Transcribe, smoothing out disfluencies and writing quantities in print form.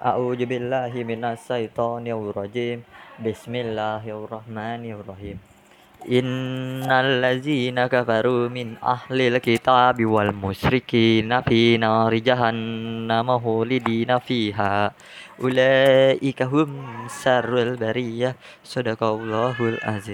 A'udzubillahi minasyaitonirrajim. Bismillahirrahmanirrahim. Innal ladzina kafaru min ahlil kitabi wal musyrikina fi nari jahannam khalidina fiha. Ulaika hum syarrul bariyah. Shadaqallahul azim.